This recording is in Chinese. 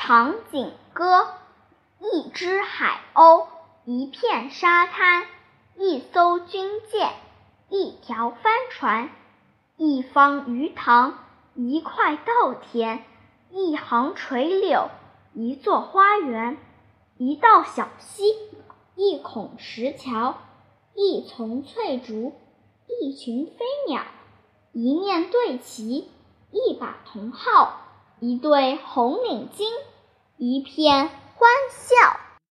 长颈歌，一只海鸥，一片沙滩，一艘军舰，一条帆船，一方鱼塘，一块稻田，一行垂柳，一座花园，一道小溪，一孔石桥，一丛翠竹，一群飞鸟，一面对旗，一把铜号，一对红领巾，一片欢笑。